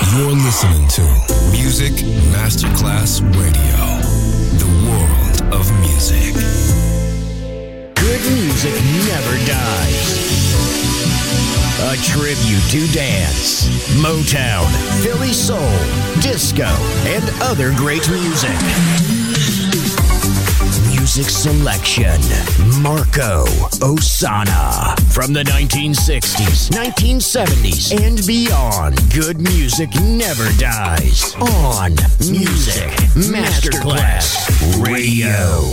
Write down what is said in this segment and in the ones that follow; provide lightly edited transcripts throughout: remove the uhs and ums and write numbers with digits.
You're listening to Music Masterclass Radio, the world of music. Good music never dies. A tribute to dance, Motown, Philly soul, disco, and other great music. Music selection, Marco Ossanna. From the 1960s, 1970s, and beyond, good music never dies. On Music Masterclass Radio.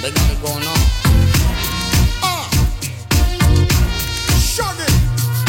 They got it going on. Shug it.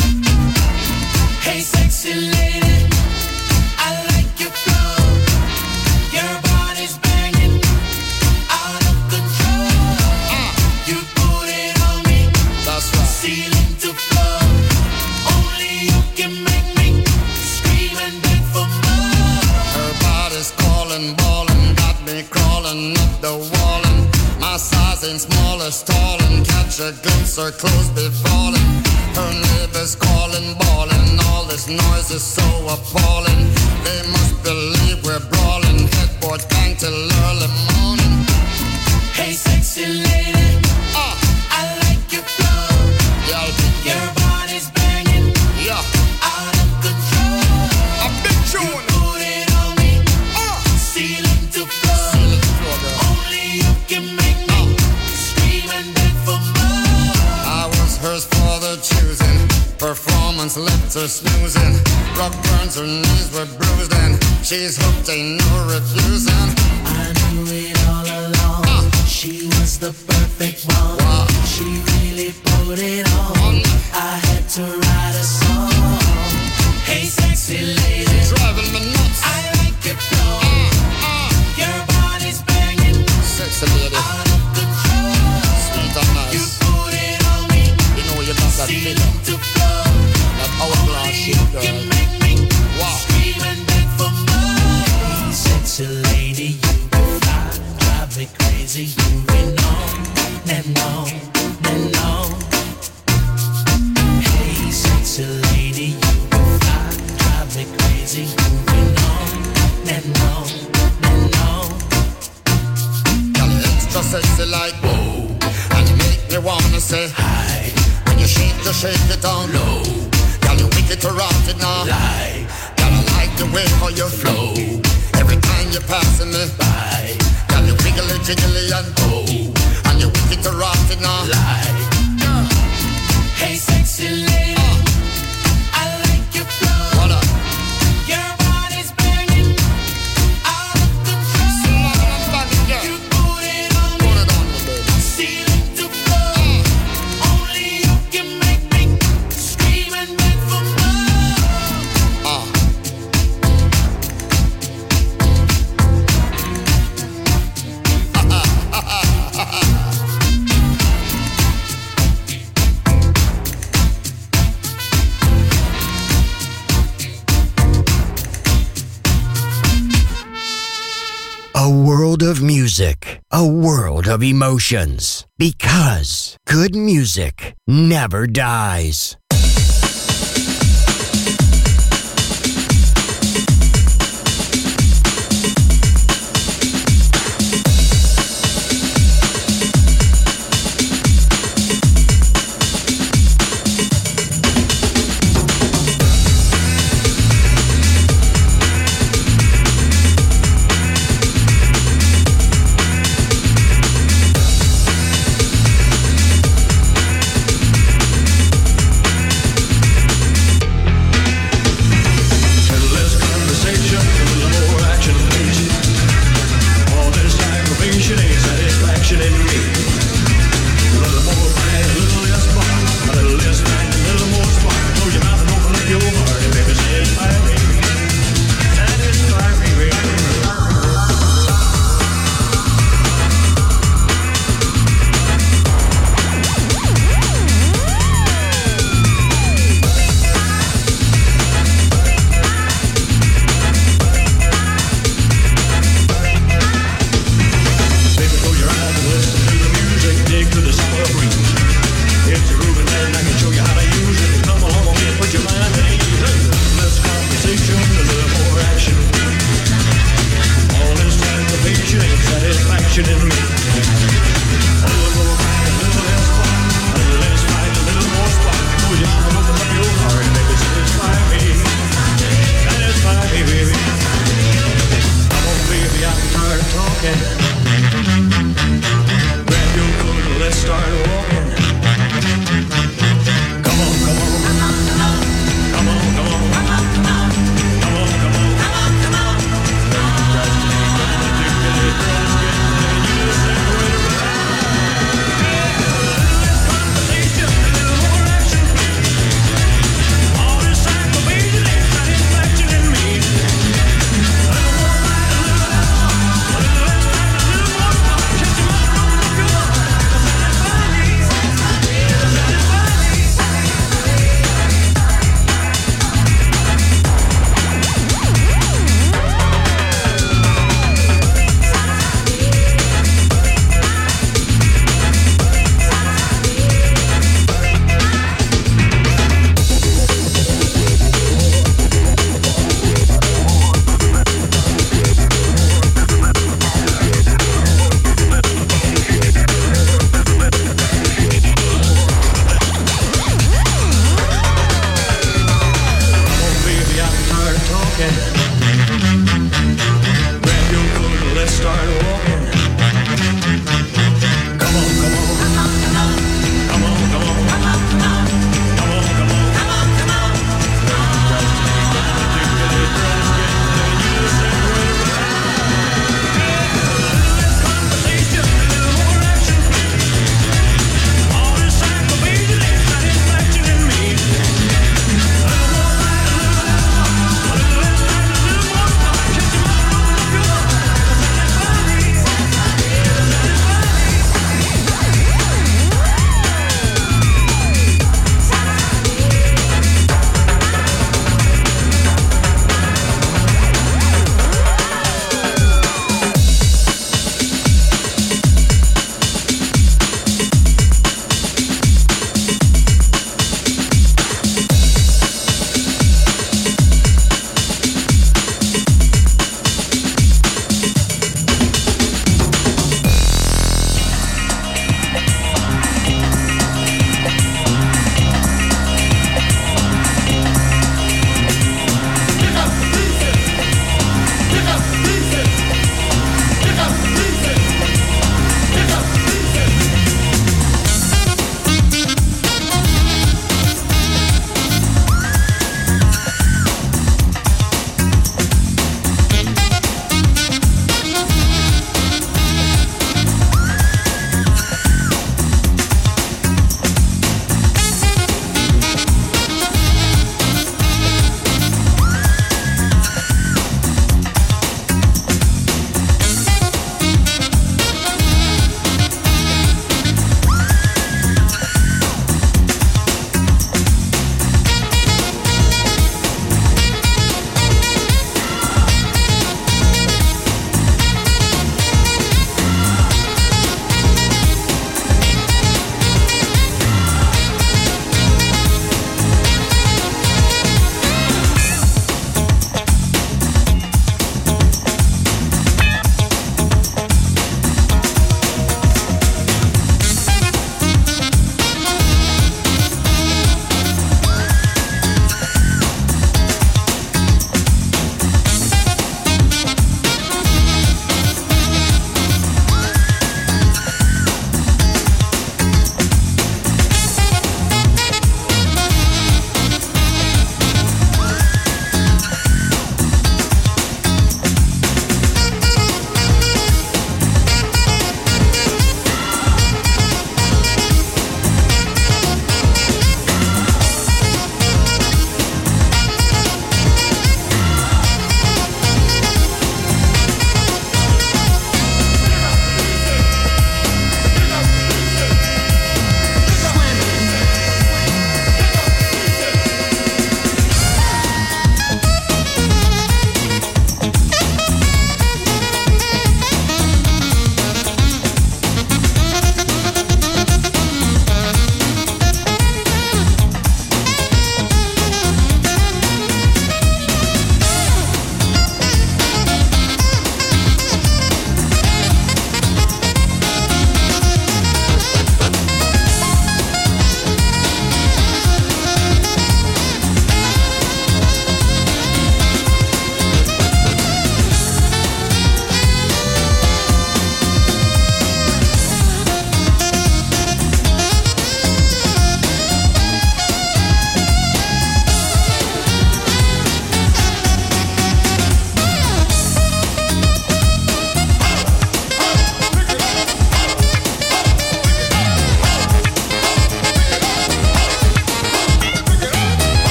Hey, sexy lady, I like your flow. Your body's banging, out of control. You put it on me, That's right. ceiling to floor. Only you can make me scream and beg for more. Her body's calling, ballin', got me crawling up the wall. And my size ain't small or stalling. Catch a glimpse, her clothes be falling. Her neighbors calling, bawling. All this noise is so appalling. They must believe we're brawling. Headboard bang till early morning. Hey, sexy lady, I like your flow. Yeah, I think Your body's banging, yeah. out of control. A big tune. Put it on me, ceiling to floor. Ceiling to floor, girl. Only you can make me scream and beg for more. I was hers for the choosing. Performance left her snoozing. Rock burns, her knees were bruised, and she's hooked, ain't no refusing. I knew it all along. She was the perfect one. Wow. She really put it on. I had to write a song. Hey, sexy lady, Driving me nuts. I like your flow. Your body's banging, Sexy lady, out of control. sweet and You nice. put it on me, You know you got that ceiling feeling, to floor. that hourglass Only shit, you girl. can make me Wow. scream and beg for more. Hey, sexy lady, you be fly, drive me crazy. Moving on and on and on. Hey, sexy lady, you be fly, drive me crazy. Moving on and on and on. Girl, you extra sexy like whoa, and you make me wanna say hi. When you shake it down low. Girl, you wicked to rock it now. Lie, Girl, I like the way how you flow. Every time you're passing me by. Girl, you wiggly jiggly and oh, and you wicked to rock it now. lie. Hey, sexy lady, I like your flow. What up? Your body's banging, out of control. You put it on me, Put it on me, baby. ceiling to floor. Only you can make me scream and beg for more. A world of music, a world of emotions. Because good music never dies.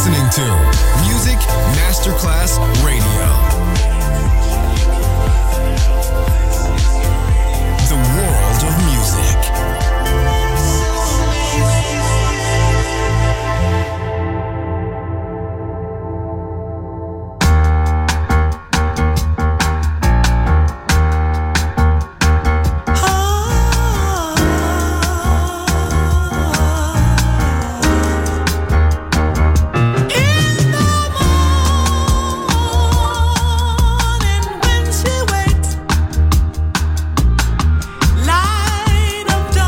listening to Music Masterclass Radio. The world of music. Light of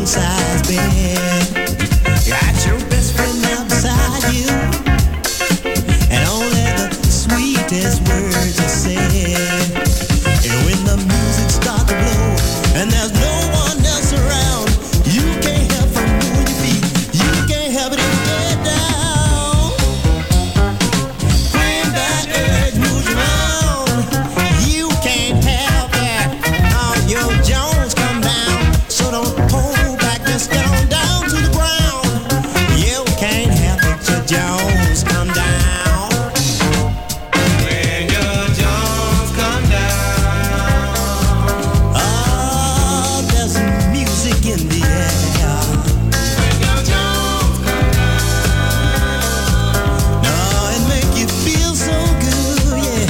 king-size bed. Got your best friend now beside you, and only the sweetest words are said. And when the music starts to blow, and there's no one else around, you can't help from moving your feet. You can't help it if you get down. Bring that urge, move around. You can't help it. All your Jones come down, so don't hold back. Just get on down to the ground. You can't help it. Your Jones come down. When your Jones come down, oh, there's music in the air. When your Jones come down, oh, it make you feel so good, yeah.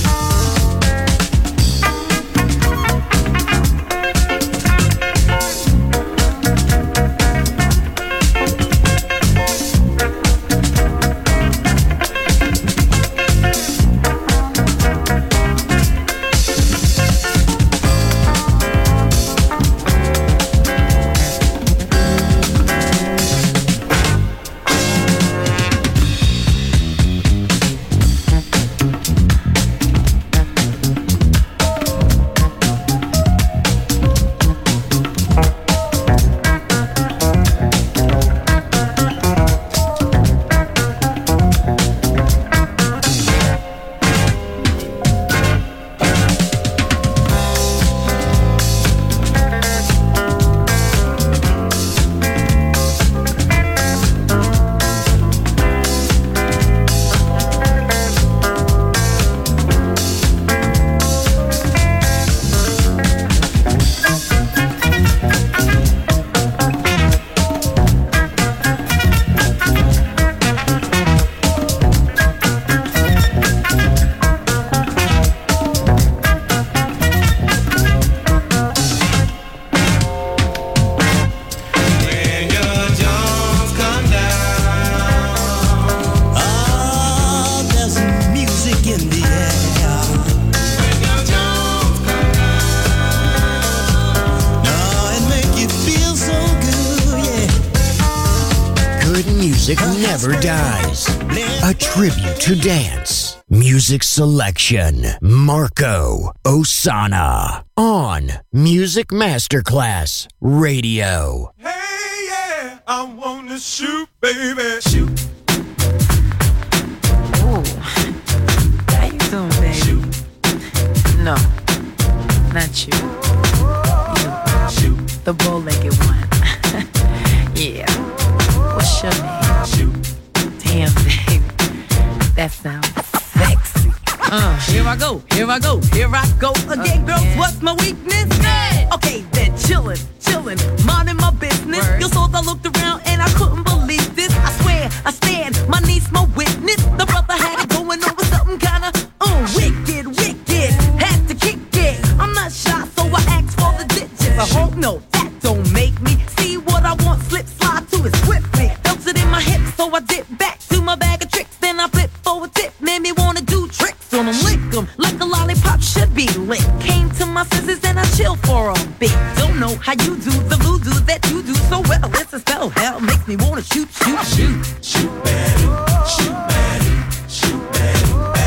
When your Jones come down, oh, there's music in the air. When your Jones come down, oh, it make you feel so good, yeah. Good music never dies. A tribute to dance. Music selection. Marco Ossanna. On Music Masterclass Radio. Hey, yeah, I wanna shoot, baby. Shoot. Ooh. How you doing, baby? No, not you. You, the bow-legged one. Yeah. What's your name? Damn, baby. That sounds sexy. Here I go, here I go, here I go again, girls. What's my weakness? Okay, then chillin', minding my business. You saw I looked around and I couldn't believe this. I swear, I stand, my niece, my witness. The brother had it going on with something kinda wicked. Had to kick it. I'm not shy, so I asked for the digits. I hope no, that don't make me see what I want. Slip, slide to it swiftly. Felt it in my hips, so I dip back to my bag of tricks. Then I flip for a tip, made me wanna do tricks on them, lick them like a lollipop should be lit. Came to my senses and I chill for a bit. Don't know how you do the voodoo that you do so well. It's a spell, hell makes me wanna shoot. Shoot, baby. Shoot, baby. Shoot, baby.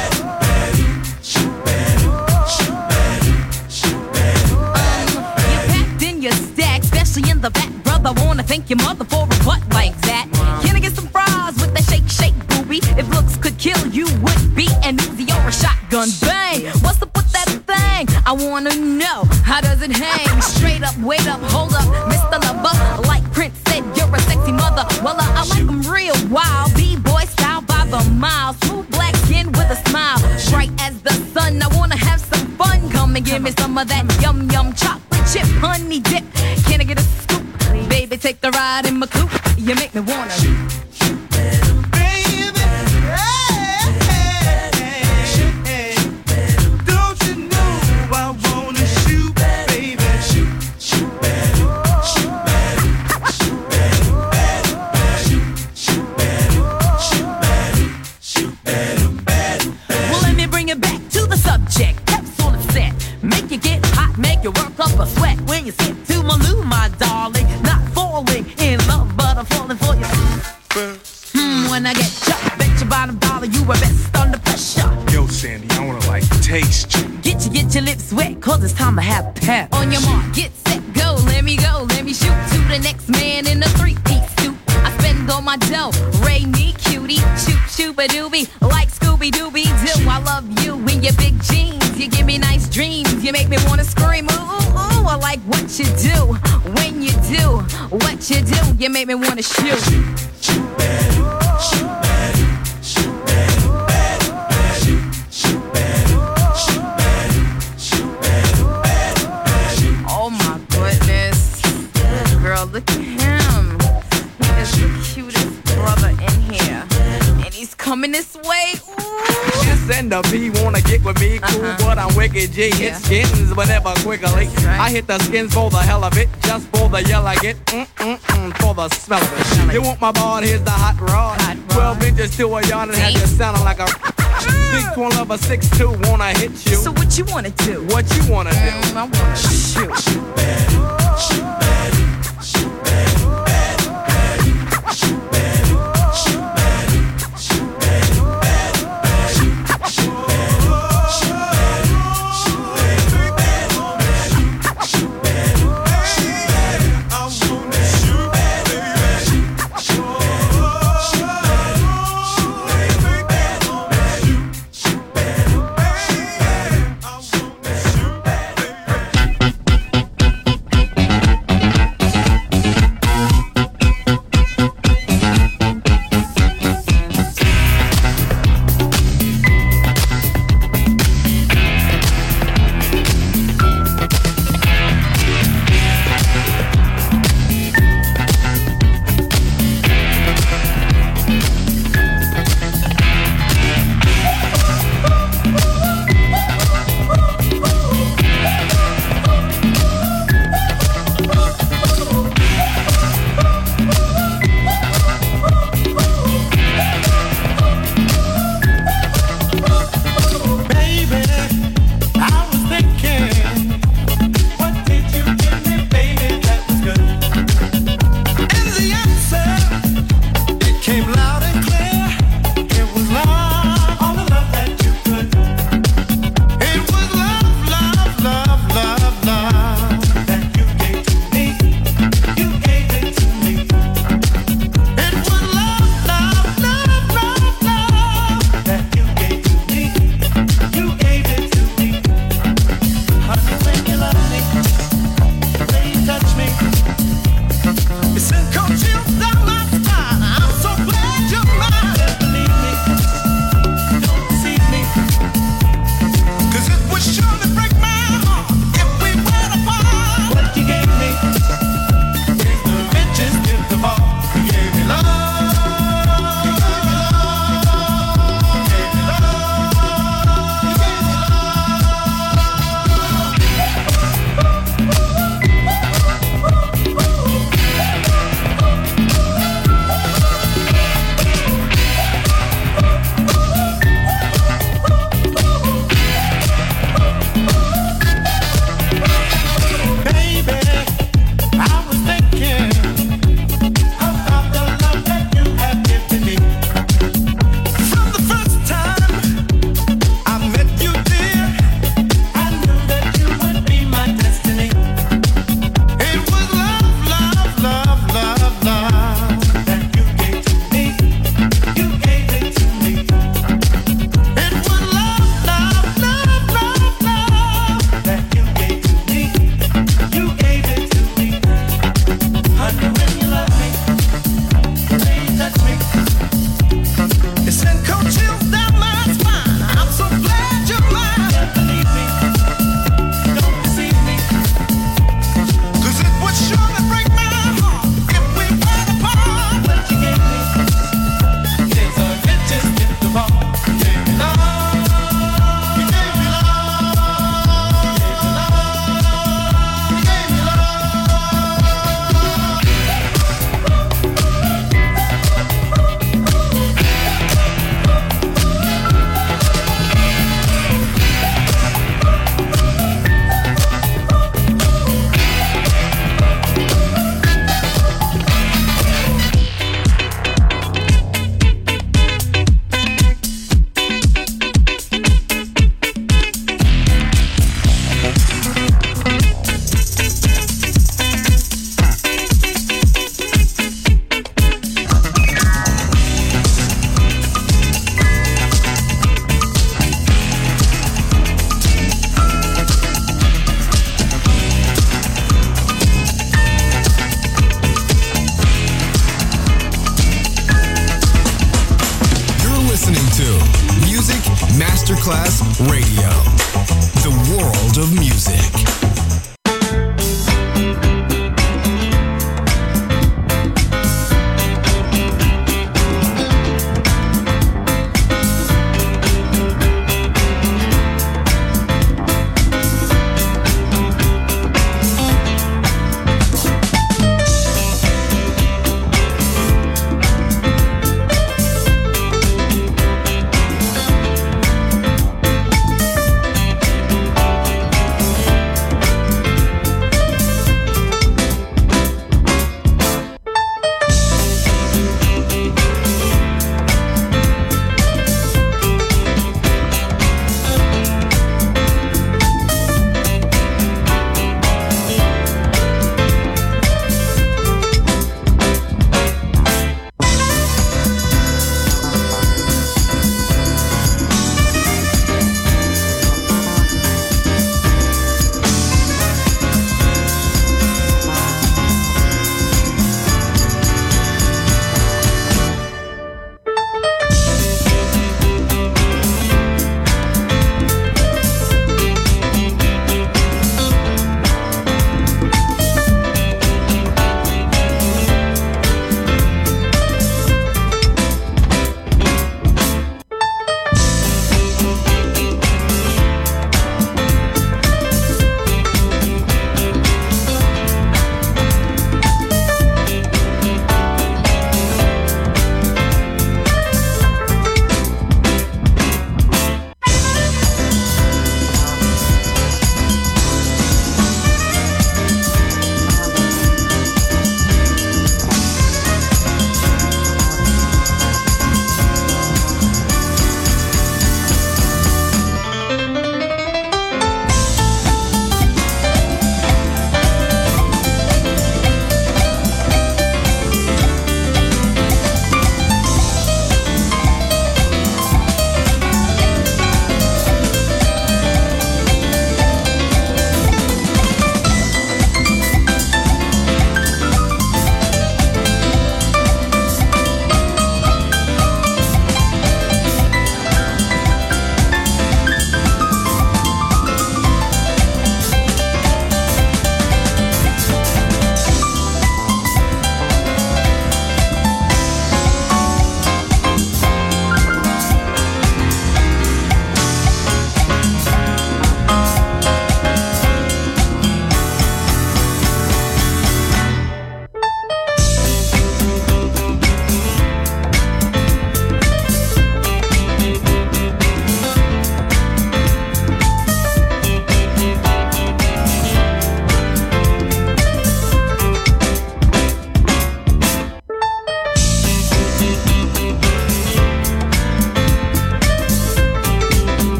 Shoot, baby. Shoot, baby. Shoot, baby. You packed in your stack, especially in the back, brother. Wanna thank your mother for a butt like that. Can I get some fries with that shake, booby? If looks could kill, you would be an Uzi or a shotgun. Bang! What's up with that thing? I wanna know, how does it hang? Straight up, wait up, hold up, Mr. Lover. Like Prince said, you're a sexy mother. Well, I like them real wild. B-boy style by the mile. Smooth black skin with a smile. Bright as the sun, I wanna have some fun. Come and give me some of that yum chocolate chip honey dip. Can I get a scoop? Baby, take the ride in my coupe. You make me wanna shoot. Make you get hot, make you work up a sweat when you sit to my loo, my darling. Not girls, it's time to have pep. On your mark, get set, go, let me shoot to the next man in a three-piece suit. I spend all my dough, Ray me cutie, shoot shooba-dooby, like Scooby-Dooby-Doo. I love you in your big jeans, you give me nice dreams, you make me wanna scream, ooh, ooh, ooh. I like what you do, when you do, what you do, you make me wanna shoot. Shoot, bad, shoot, bad, shoot, bad, bad, bad, shoot, bad, shoot, bad, shoot, bad, bad, bad. Oh my goodness, girl, look at him. He is the cutest brother in here, and he's coming this way. Ooh. And the P wanna get with me, cool, but I'm wicked G. Hit skins whenever quickly. Right. I hit the skins for the hell of it, just for the yell I get, for the smell of it. You want my ball, here's the hot rod. 12 inches to a yard and have you sounding like a 6'1" a 6'2", wanna hit you. So what you wanna do? What you wanna do? I wanna shoot. Shoot bad, shoot bad, shoot bad, bad, bad, shoot bad, shoot bad, shoot bad, bad, bad, shoot bad, shoot bad, shoot bad, bad, bad, shoot bad, shoot bad, I wanna shoot bad, bad, shoot bad, shoot bad, shoot bad, bad, shoot bad, bad, I wanna shoot bad.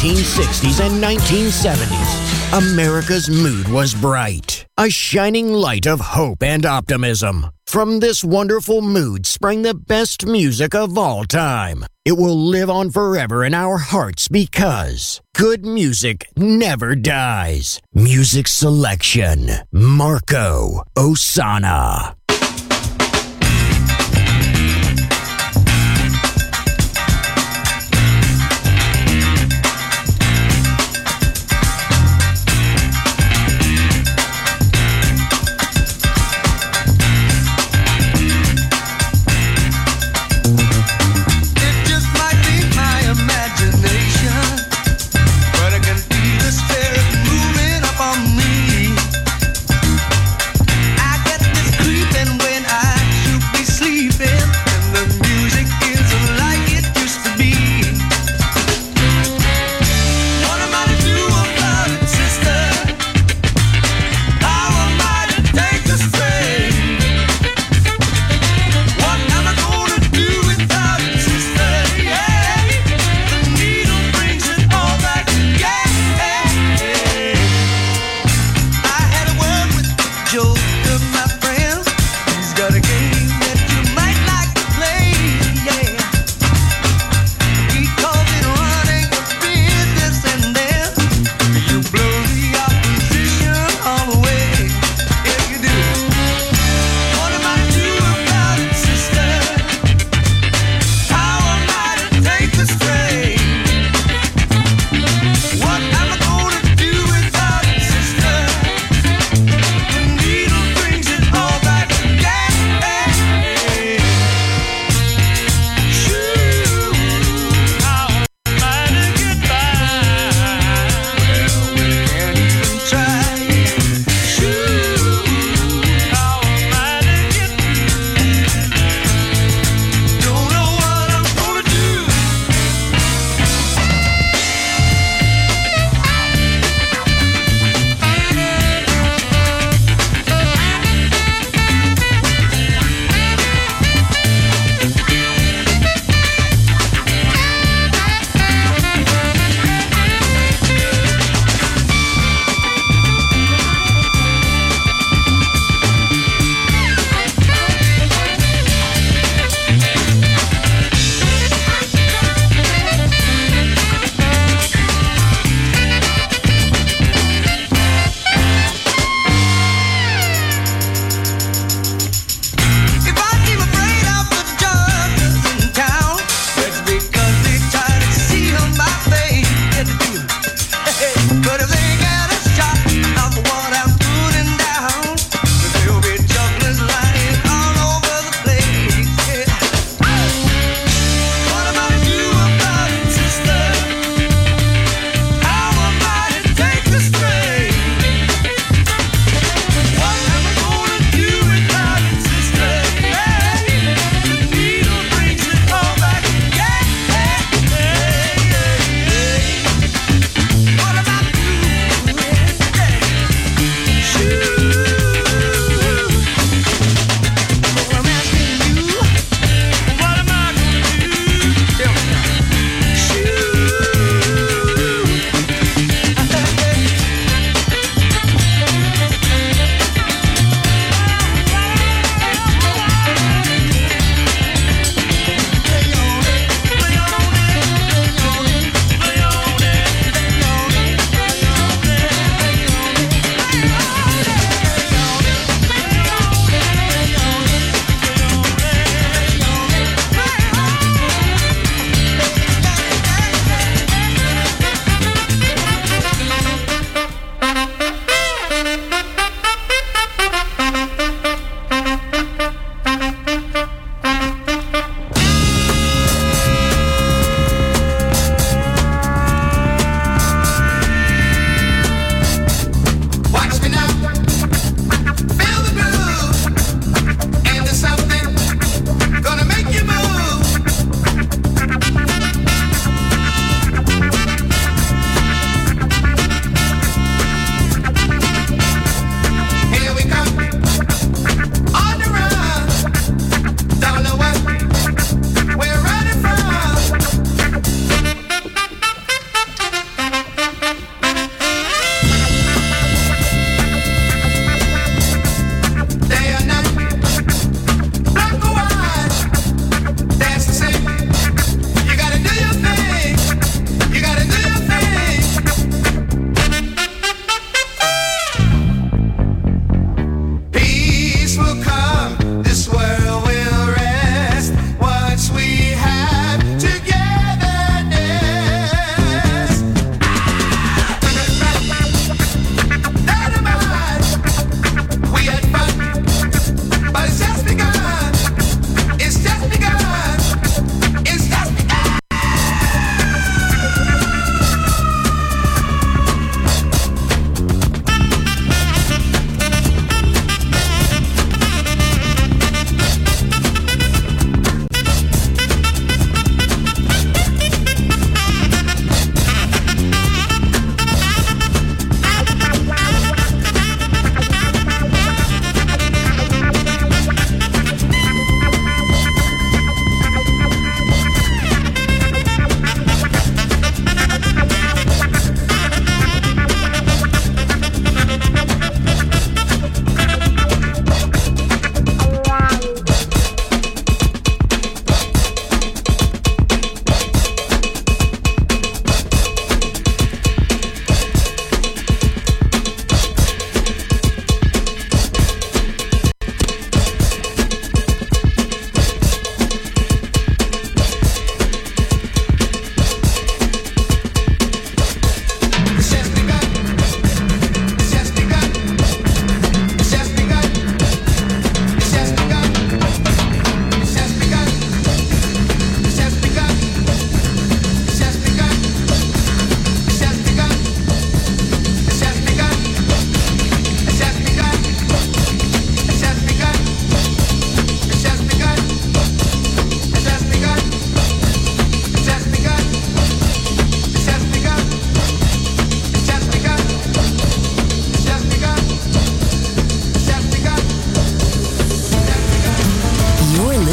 1960s and 1970s, America's mood was bright, a shining light of hope and optimism. From this wonderful mood sprang the best music of all time. It will live on forever in our hearts because good music never dies. Music selection, Marco Ossanna. Moving up on me, I get this creeping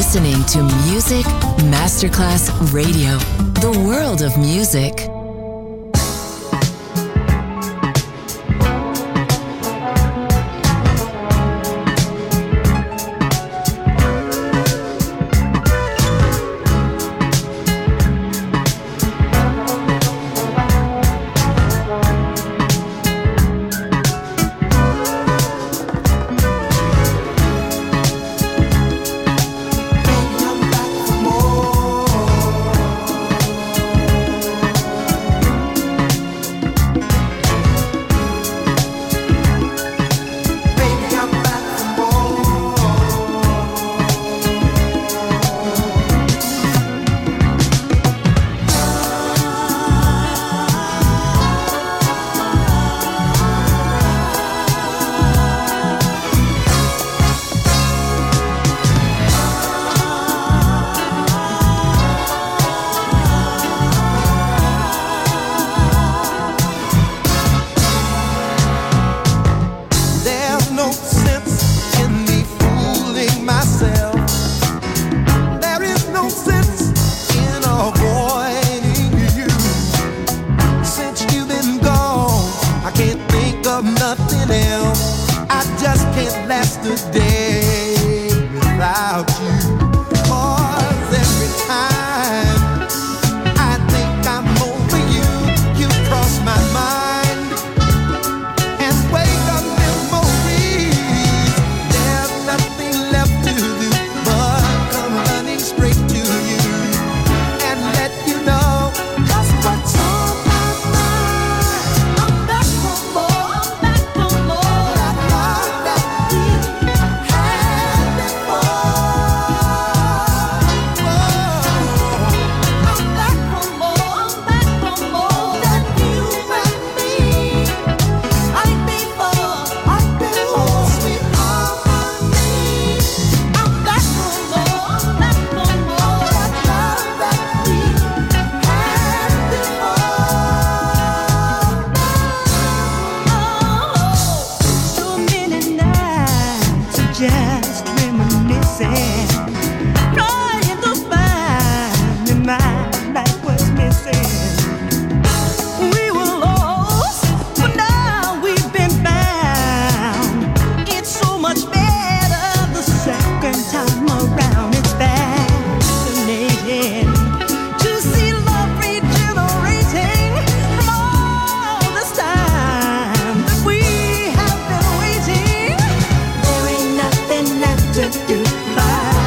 listening to Music Masterclass Radio, the world of music. There ain't nothing left to do but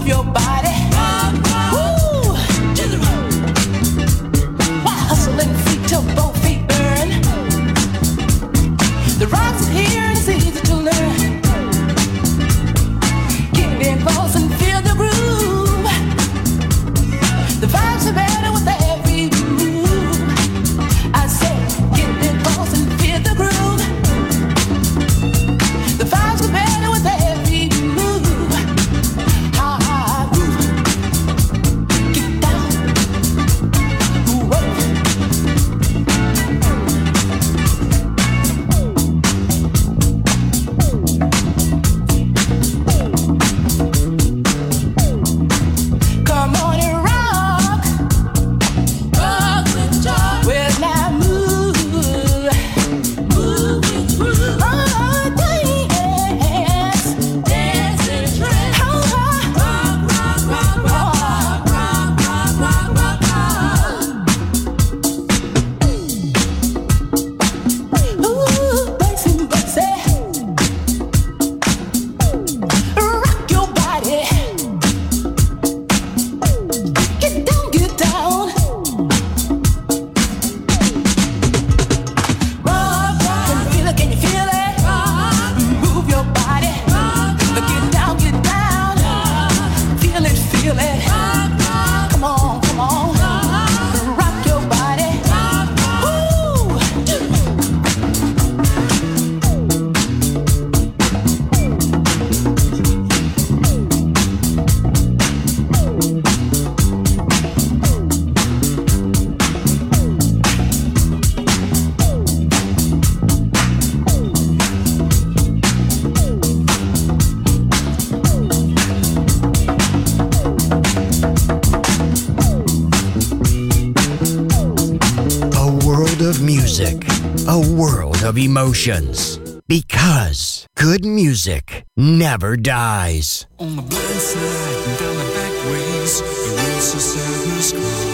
move your body. Woo! While hustling feet till both feet burn. The rocks are here and it's easy to learn. Get in close and feel the groove. The vibes are better with every move. I say, get in close and feel the groove. The vibes are better with every move. Ah, groove. Get down. Whoa. Come on and rock. Rock with joy. Well, now move. Move with groove. Oh, dance. Dance and trance. Oh, rock, rock, rock, rock, rock, rock, rock, rock, rock. Ooh, Basie, Basie. Rock your body. Get down, get down. Rock, rock. Can you feel it? Can you feel it? Rock. Move your body. Rock, get down, get down. Feel it, feel it. Come on, come on. Rock your body. Woo. A world of music, a world of emotions. Because good music never dies. On the blind side and down the back ways, the road's so sadness crawl.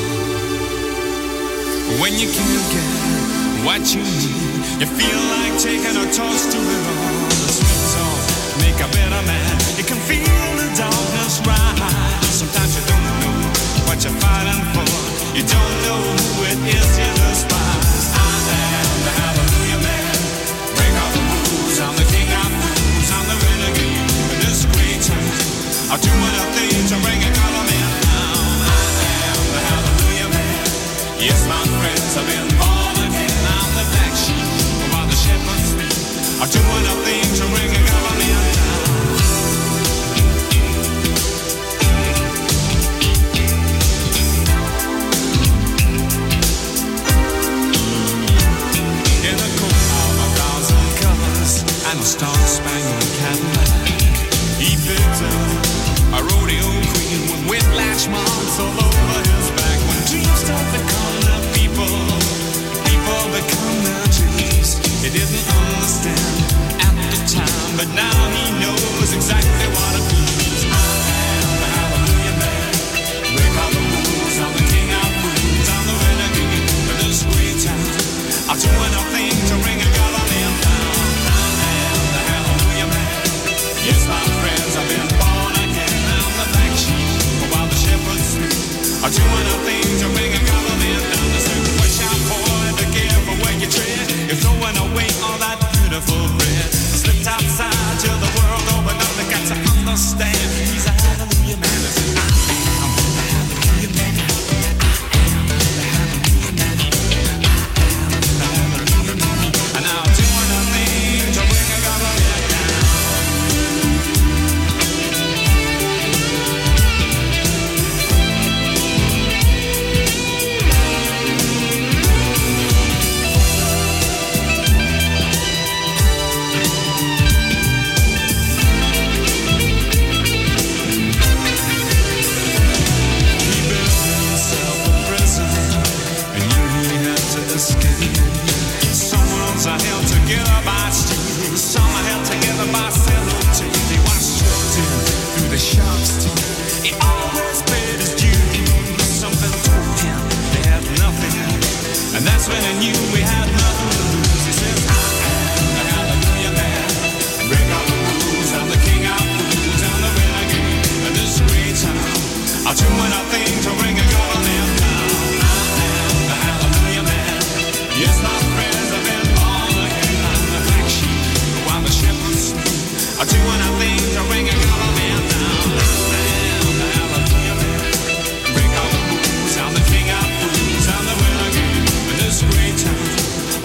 When you can't get what you need, you feel like taking a toast to it all. The sweet song make a better man. You can feel the darkness rise. Sometimes you don't know what you're fighting for. You don't know who it is you despise. I am the hallelujah man. Break all the rules. I'm the king of fools. I'm the renegade in this great town. I'll do what I think to bring a government down. I am the hallelujah man. Yes, my friends, I've been born again. I'm the black sheep while the shepherds sleep. I'll do what I think to bring a government down. In the coat of 1,000 colors and a star-spangled Cadillac, he picked up a rodeo queen with whiplash marks all over his back. When dreams start to come to people, people become their dreams. He didn't understand at the time, but now he knows exactly what it means. I am the hallelujah man. Break all the rules. I'm the king of fools. I'm the renegade of this great town. I'll do anything to bring a government down. I am the hallelujah man. Yes, my friends, I've been born again. I'm the black sheep while the shepherds sleep. I'll do anything to bring a government down. There's a push out boy to give away your tread. You're throwing away all that beautiful bread. Slipped outside till the world opened up. They got to understand he's a hallelujah man. I'm the hallelujah man. And I'll do anything to bring a government down.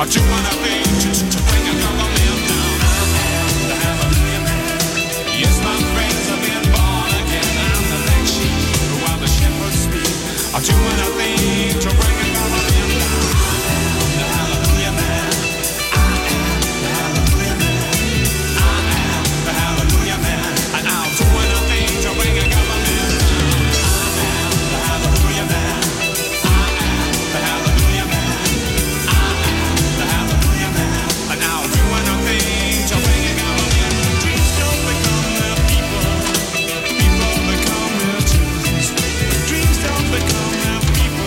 doing a thing to bring a government down. I am the hallelujah man. Yes, my friends have been born again. I'm the black sheep while the shepherds speak. I'm doing a thing to bring a government down. I am the hallelujah man. I am the hallelujah man. I am the hallelujah man. And I'm doing a thing to bring a government down. I am the hallelujah man. I am the hallelujah man. I am the hallelujah man. And I'm doing a thing to bring a government. Dreams don't become their people. People become their dreams. Dreams don't become their people.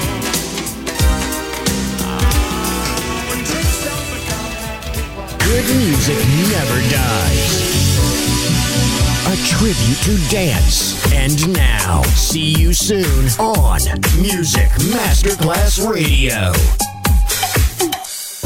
When dreams don't become their people. Good music never dies. A tribute to dance. And now, see you soon on Music Masterclass Radio.